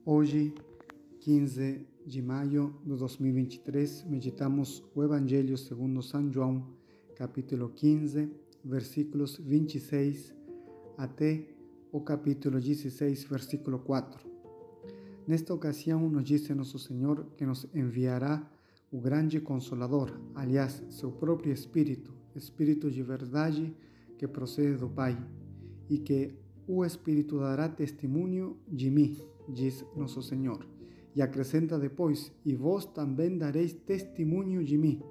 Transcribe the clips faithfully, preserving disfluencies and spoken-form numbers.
Hoje, quinze de maio de dois mil e vinte e três, meditamos o Evangelho segundo São João, capítulo quinze, versículos vinte e seis até o capítulo dezesseis, versículo quatro. Nesta ocasião, nos diz Nosso Senhor que nos enviará o grande Consolador, aliás, seu próprio Espírito, Espírito de verdade que procede do Pai, e que o Espírito dará testemunho de mim, diz Nosso Senhor. E acrescenta depois: e vós também dareis testemunho de mim.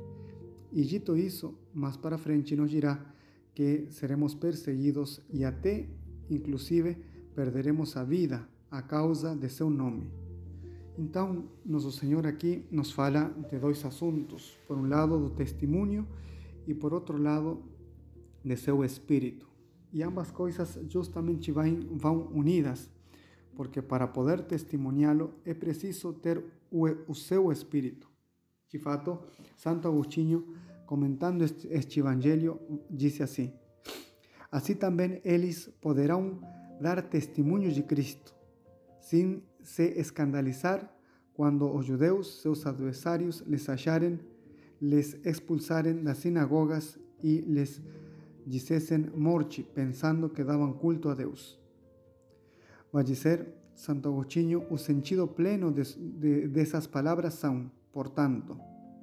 E dito isso, mais para frente nos dirá que seremos perseguidos e até, inclusive, perderemos a vida a causa de seu nome. Então, Nosso Senhor aqui nos fala de dois assuntos. Por um lado, do testemunho e por outro lado, de seu Espírito. E ambas coisas justamente vão unidas, porque para poder testemunhá-lo é preciso ter o, o seu Espírito. De fato, Santo Agostinho, comentando este, este Evangelho, disse assim: assim também eles poderão dar testemunho de Cristo, sem se escandalizar quando os judeus, seus adversários, les acharem, les expulsarem das sinagogas e les dissessem morte, pensando que davam culto a Deus. Vai dizer Santo Agostinho: o sentido pleno de, de, dessas palavras são, portanto,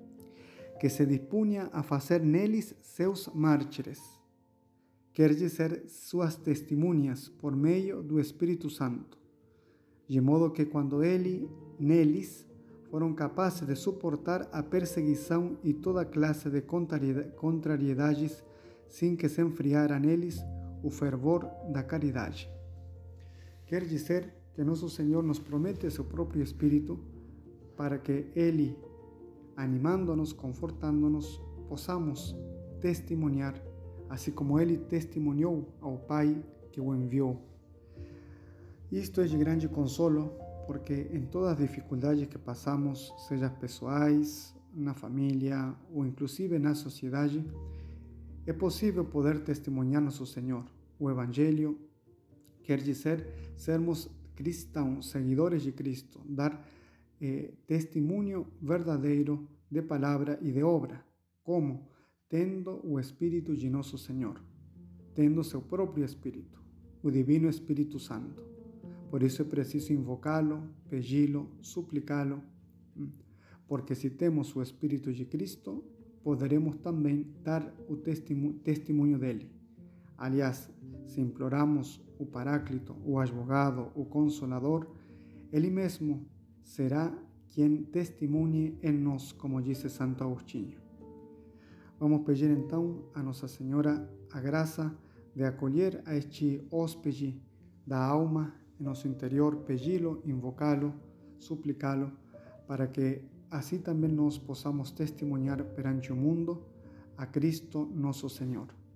que se dispunha a fazer neles seus mártires, quer dizer, suas testemunhas por meio do Espírito Santo, de modo que quando ele, neles, foram capazes de suportar a perseguição e toda classe de contrariedades, sem que se enfriara neles o fervor da caridade. Quer dizer que Nosso Senhor nos promete seu próprio Espírito para que Ele, animando-nos, confortando-nos, possamos testemunhar, assim como Ele testemunhou ao Pai que o enviou. Isto é de grande consolo, porque em todas as dificuldades que passamos, seja pessoais, na família ou inclusive na sociedade, é possível poder testemunhar Nosso Senhor. O Evangelho quer dizer sermos cristãos, seguidores de Cristo, dar eh, testemunho verdadeiro de palavra e de obra. Como? Tendo o Espírito de Nosso Senhor, tendo seu próprio Espírito, o Divino Espírito Santo. Por isso é preciso invocá-lo, pedi-lo, suplicá-lo, porque se temos o Espírito de Cristo, poderemos também dar o testemunho dele. Aliás, se imploramos o Paráclito, o Advogado, o Consolador, ele mesmo será quem testemunhe em nós, como disse Santo Agostinho. Vamos pedir então a Nossa Senhora a graça de acolher a este hóspede da alma em nosso interior, pedi-lo, invocá-lo, suplicá-lo, para que assim também nós possamos testemunhar perante o mundo a Cristo nosso Senhor.